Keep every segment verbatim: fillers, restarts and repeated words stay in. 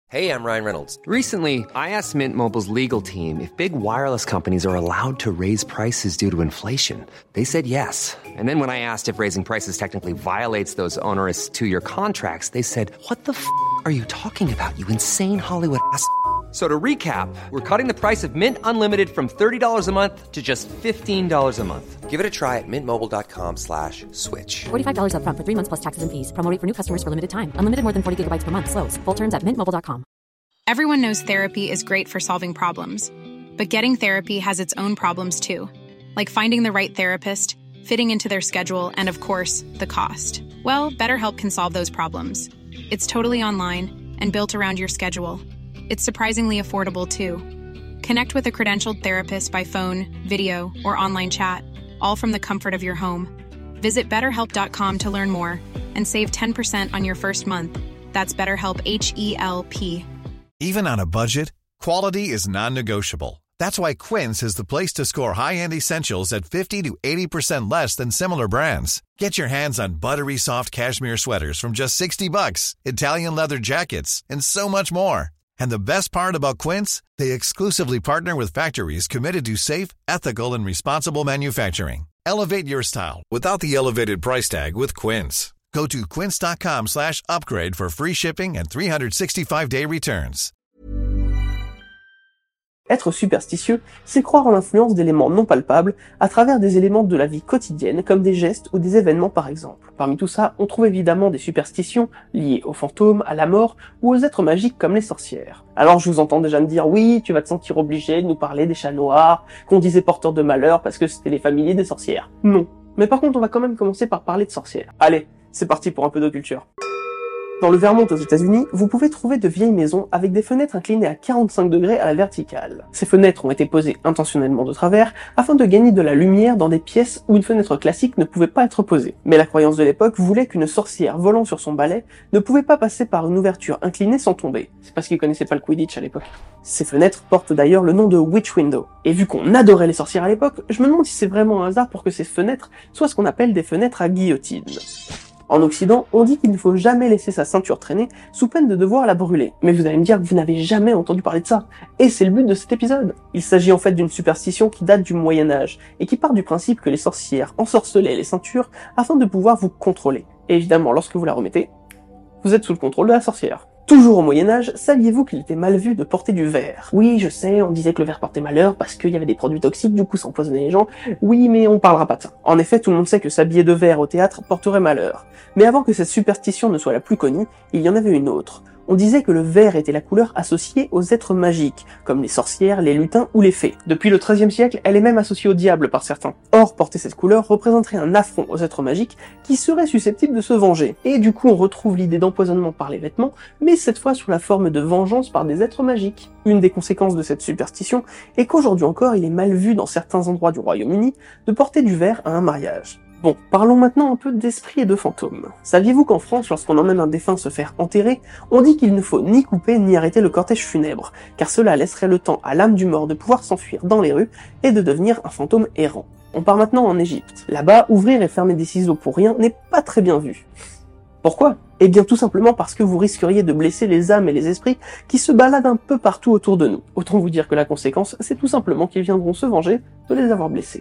Hey, I'm Ryan Reynolds. Recently, I asked Mint Mobile's legal team if big wireless companies are allowed to raise prices due to inflation. They said yes. And then when I asked if raising prices technically violates those onerous two-year contracts, they said, what the f*** are you talking about, you insane Hollywood ass f- So to recap, we're cutting the price of Mint Unlimited from thirty dollars a month to just fifteen dollars a month. Give it a try at mintmobile.com slash switch. forty-five dollars up front for three months plus taxes and fees. Promo rate for new customers for limited time. Unlimited more than forty gigabytes per month. Slows full terms at mint mobile dot com. Everyone knows therapy is great for solving problems. But getting therapy has its own problems too. Like finding the right therapist, fitting into their schedule, and of course, the cost. Well, BetterHelp can solve those problems. It's totally online and built around your schedule. It's surprisingly affordable, too. Connect with a credentialed therapist by phone, video, or online chat, all from the comfort of your home. Visit better help dot com to learn more and save ten percent on your first month. That's BetterHelp, H E L P. Even on a budget, quality is non-negotiable. That's why Quince is the place to score high-end essentials at fifty to eighty percent less than similar brands. Get your hands on buttery soft cashmere sweaters from just sixty bucks, Italian leather jackets, and so much more. And the best part about Quince, they exclusively partner with factories committed to safe, ethical, and responsible manufacturing. Elevate your style without the elevated price tag with Quince. Go to quince.com slash upgrade for free shipping and three sixty-five day returns. Être superstitieux, c'est croire en l'influence d'éléments non palpables à travers des éléments de la vie quotidienne comme des gestes ou des événements par exemple. Parmi tout ça, on trouve évidemment des superstitions liées aux fantômes, à la mort ou aux êtres magiques comme les sorcières. Alors je vous entends déjà me dire oui, tu vas te sentir obligé de nous parler des chats noirs, qu'on disait porteurs de malheur parce que c'était les familiers des sorcières. Non. Mais par contre on va quand même commencer par parler de sorcières. Allez, c'est parti pour un peu de culture. Dans le Vermont aux États-Unis, vous pouvez trouver de vieilles maisons avec des fenêtres inclinées à quarante-cinq degrés à la verticale. Ces fenêtres ont été posées intentionnellement de travers afin de gagner de la lumière dans des pièces où une fenêtre classique ne pouvait pas être posée. Mais la croyance de l'époque voulait qu'une sorcière volant sur son balai ne pouvait pas passer par une ouverture inclinée sans tomber. C'est parce qu'ils connaissaient pas le Quidditch à l'époque. Ces fenêtres portent d'ailleurs le nom de Witch Window. Et vu qu'on adorait les sorcières à l'époque, je me demande si c'est vraiment un hasard pour que ces fenêtres soient ce qu'on appelle des fenêtres à guillotine. En Occident, on dit qu'il ne faut jamais laisser sa ceinture traîner sous peine de devoir la brûler. Mais vous allez me dire que vous n'avez jamais entendu parler de ça. Et c'est le but de cet épisode. Il s'agit en fait d'une superstition qui date du Moyen-Âge et qui part du principe que les sorcières ensorcelaient les ceintures afin de pouvoir vous contrôler. Et évidemment, lorsque vous la remettez, vous êtes sous le contrôle de la sorcière. Toujours au Moyen-Âge, saviez-vous qu'il était mal vu de porter du verre? Oui, je sais, on disait que le verre portait malheur parce qu'il y avait des produits toxiques, du coup ça empoisonnait les gens. Oui, mais on parlera pas de ça. En effet, tout le monde sait que s'habiller de verre au théâtre porterait malheur. Mais avant que cette superstition ne soit la plus connue, il y en avait une autre. On disait que le vert était la couleur associée aux êtres magiques, comme les sorcières, les lutins ou les fées. Depuis le treizième siècle, elle est même associée au diable par certains. Or, porter cette couleur représenterait un affront aux êtres magiques qui seraient susceptibles de se venger. Et du coup, on retrouve l'idée d'empoisonnement par les vêtements, mais cette fois sous la forme de vengeance par des êtres magiques. Une des conséquences de cette superstition est qu'aujourd'hui encore, il est mal vu dans certains endroits du Royaume-Uni de porter du vert à un mariage. Bon, parlons maintenant un peu d'esprit et de fantômes. Saviez-vous qu'en France, lorsqu'on emmène un défunt se faire enterrer, on dit qu'il ne faut ni couper ni arrêter le cortège funèbre, car cela laisserait le temps à l'âme du mort de pouvoir s'enfuir dans les rues et de devenir un fantôme errant. On part maintenant en Égypte. Là-bas, ouvrir et fermer des ciseaux pour rien n'est pas très bien vu. Pourquoi ? Eh bien tout simplement parce que vous risqueriez de blesser les âmes et les esprits qui se baladent un peu partout autour de nous. Autant vous dire que la conséquence, c'est tout simplement qu'ils viendront se venger de les avoir blessés.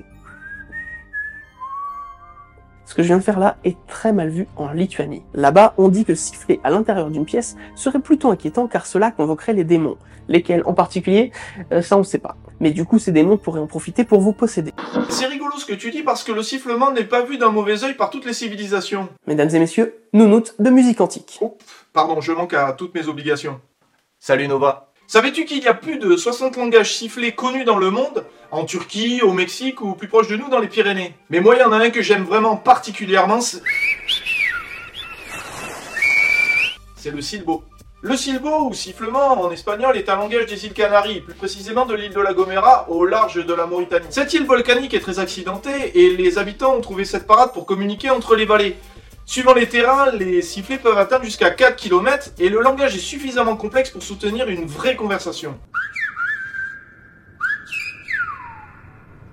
Ce que je viens de faire là est très mal vu en Lituanie. Là-bas, on dit que siffler à l'intérieur d'une pièce serait plutôt inquiétant car cela convoquerait les démons. Lesquels en particulier, euh, ça on sait pas. Mais du coup, ces démons pourraient en profiter pour vous posséder. C'est rigolo ce que tu dis parce que le sifflement n'est pas vu d'un mauvais œil par toutes les civilisations. Mesdames et messieurs, nounoutes de musique antique. Oh, pardon, je manque à toutes mes obligations. Salut Nova. Savais-tu qu'il y a plus de soixante langages sifflés connus dans le monde? En Turquie, au Mexique ou plus proche de nous dans les Pyrénées. Mais moi, il y en a un que j'aime vraiment particulièrement, c'est... c'est le silbo. Le silbo, ou sifflement en espagnol, est un langage des îles Canaries, plus précisément de l'île de La Gomera, au large de la Mauritanie. Cette île volcanique est très accidentée, et les habitants ont trouvé cette parade pour communiquer entre les vallées. Suivant les terrains, les sifflets peuvent atteindre jusqu'à quatre kilomètres, et le langage est suffisamment complexe pour soutenir une vraie conversation.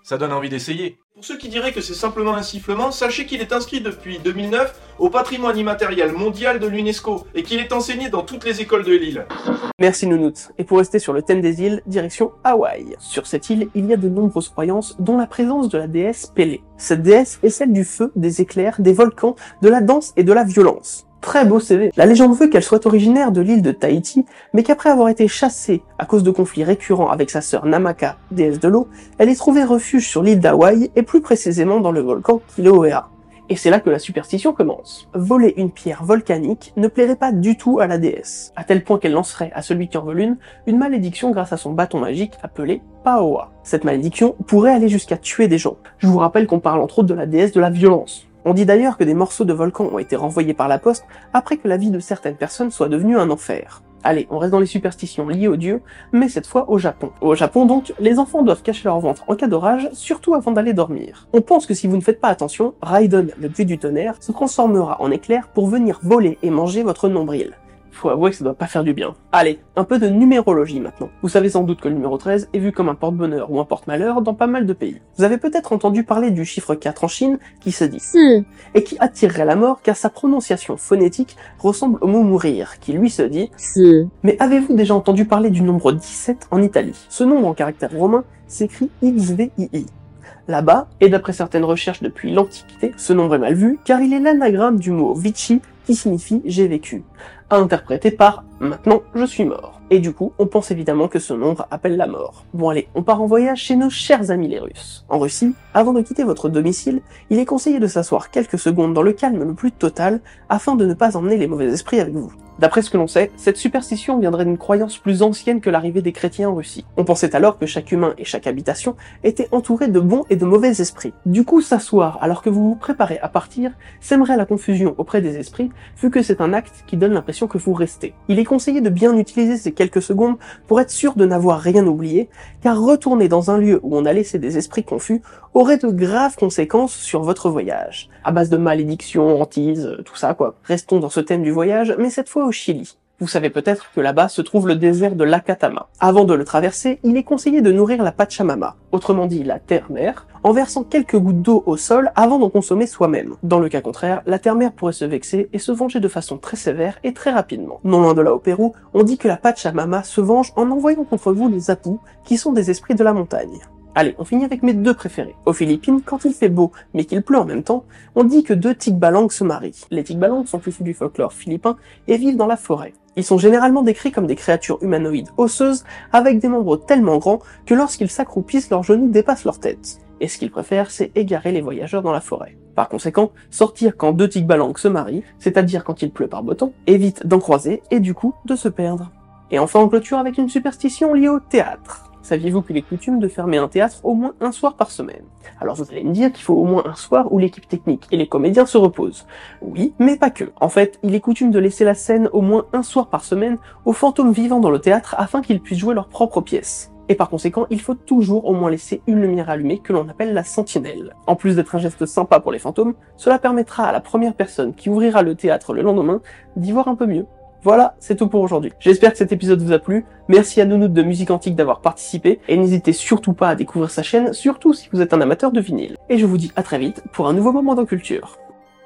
Ça donne envie d'essayer. Pour ceux qui diraient que c'est simplement un sifflement, sachez qu'il est inscrit depuis deux mille neuf au patrimoine immatériel mondial de l'UNESCO et qu'il est enseigné dans toutes les écoles de l'île. Merci Nounout. Et pour rester sur le thème des îles, direction Hawaï. Sur cette île, il y a de nombreuses croyances, dont la présence de la déesse Pélé. Cette déesse est celle du feu, des éclairs, des volcans, de la danse et de la violence. Très beau C V. La légende veut qu'elle soit originaire de l'île de Tahiti, mais qu'après avoir été chassée à cause de conflits récurrents avec sa sœur Namaka, déesse de l'eau, elle ait trouvé refuge sur l'île d'Hawaï et plus précisément dans le volcan Kilauea. Et c'est là que la superstition commence. Voler une pierre volcanique ne plairait pas du tout à la déesse, à tel point qu'elle lancerait à celui qui en vole une, une malédiction grâce à son bâton magique appelé Paoa. Cette malédiction pourrait aller jusqu'à tuer des gens. Je vous rappelle qu'on parle entre autres de la déesse de la violence. On dit d'ailleurs que des morceaux de volcan ont été renvoyés par la poste après que la vie de certaines personnes soit devenue un enfer. Allez, on reste dans les superstitions liées aux dieux, mais cette fois au Japon. Au Japon donc, les enfants doivent cacher leur ventre en cas d'orage, surtout avant d'aller dormir. On pense que si vous ne faites pas attention, Raiden, le dieu du tonnerre, se transformera en éclair pour venir voler et manger votre nombril. Faut avouer que ça doit pas faire du bien. Allez, un peu de numérologie maintenant. Vous savez sans doute que le numéro treize est vu comme un porte-bonheur ou un porte-malheur dans pas mal de pays. Vous avez peut-être entendu parler du chiffre quatre en Chine qui se dit si, et qui attirerait la mort car sa prononciation phonétique ressemble au mot mourir qui lui se dit si. Mais avez-vous déjà entendu parler du nombre dix-sept en Italie? Ce nombre en caractère romain s'écrit X V I I. Là-bas, et d'après certaines recherches depuis l'Antiquité, ce nombre est mal vu car il est l'anagramme du mot vici qui signifie j'ai vécu, à interpréter par maintenant je suis mort. Et du coup, on pense évidemment que ce nombre appelle la mort. Bon allez, on part en voyage chez nos chers amis les Russes. En Russie, avant de quitter votre domicile, il est conseillé de s'asseoir quelques secondes dans le calme le plus total afin de ne pas emmener les mauvais esprits avec vous. D'après ce que l'on sait, cette superstition viendrait d'une croyance plus ancienne que l'arrivée des chrétiens en Russie. On pensait alors que chaque humain et chaque habitation étaient entourés de bons et de mauvais esprits. Du coup, s'asseoir alors que vous vous préparez à partir sèmerait la confusion auprès des esprits, vu que c'est un acte qui donne l'impression que vous restez. Il est conseillé de bien utiliser ces quelques secondes pour être sûr de n'avoir rien oublié, car retourner dans un lieu où on a laissé des esprits confus aurait de graves conséquences sur votre voyage. À base de malédictions, hantises, tout ça quoi. Restons dans ce thème du voyage, mais cette fois au Chili. Vous savez peut-être que là-bas se trouve le désert de l'Acatama. Avant de le traverser, il est conseillé de nourrir la Pachamama, autrement dit la terre-mère, en versant quelques gouttes d'eau au sol avant d'en consommer soi-même. Dans le cas contraire, la terre-mère pourrait se vexer et se venger de façon très sévère et très rapidement. Non loin de là au Pérou, on dit que la Pachamama se venge en envoyant contre vous les apus, qui sont des esprits de la montagne. Allez, on finit avec mes deux préférés. Aux Philippines, quand il fait beau, mais qu'il pleut en même temps, on dit que deux tikbalang se marient. Les tikbalang sont issus du folklore philippin et vivent dans la forêt. Ils sont généralement décrits comme des créatures humanoïdes osseuses, avec des membres tellement grands que lorsqu'ils s'accroupissent, leurs genoux dépassent leur tête. Et ce qu'ils préfèrent, c'est égarer les voyageurs dans la forêt. Par conséquent, sortir quand deux tikbalang se marient, c'est-à-dire quand il pleut par beau temps, évite d'en croiser et du coup de se perdre. Et enfin on clôture avec une superstition liée au théâtre. Saviez-vous qu'il est coutume de fermer un théâtre au moins un soir par semaine? Alors vous allez me dire qu'il faut au moins un soir où l'équipe technique et les comédiens se reposent. Oui, mais pas que. En fait, il est coutume de laisser la scène au moins un soir par semaine aux fantômes vivant dans le théâtre afin qu'ils puissent jouer leurs propres pièces. Et par conséquent, il faut toujours au moins laisser une lumière allumée que l'on appelle la sentinelle. En plus d'être un geste sympa pour les fantômes, cela permettra à la première personne qui ouvrira le théâtre le lendemain d'y voir un peu mieux. Voilà, c'est tout pour aujourd'hui. J'espère que cet épisode vous a plu. Merci à Nounout de Musique Antique d'avoir participé. Et n'hésitez surtout pas à découvrir sa chaîne, surtout si vous êtes un amateur de vinyle. Et je vous dis à très vite pour un nouveau moment dans Culture.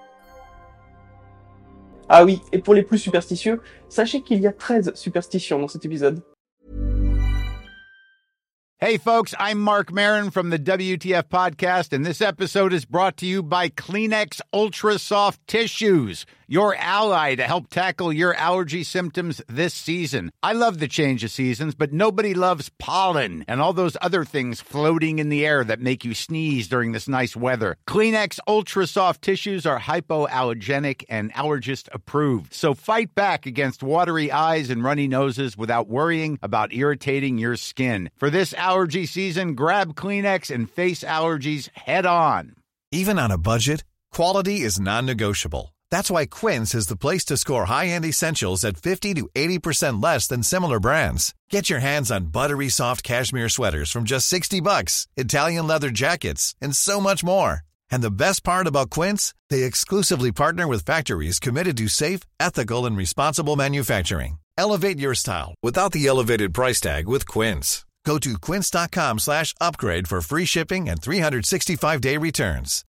Ah oui, et pour les plus superstitieux, sachez qu'il y a treize superstitions dans cet épisode. Hey folks, I'm Mark Maron from the W T F podcast, and this episode is brought to you by Kleenex Ultra Soft Tissues, your ally to help tackle your allergy symptoms this season. I love the change of seasons, but nobody loves pollen and all those other things floating in the air that make you sneeze during this nice weather. Kleenex Ultra Soft Tissues are hypoallergenic and allergist approved, so fight back against watery eyes and runny noses without worrying about irritating your skin. For this allergy season, grab Kleenex and face allergies head on. Even on a budget, quality is non-negotiable. That's why Quince is the place to score high-end essentials at fifty to eighty percent less than similar brands. Get your hands on buttery soft cashmere sweaters from just sixty bucks, Italian leather jackets, and so much more. And the best part about Quince, they exclusively partner with factories committed to safe, ethical, and responsible manufacturing. Elevate your style without the elevated price tag with Quince. Go to quince.com slash upgrade for free shipping and three sixty-five day returns.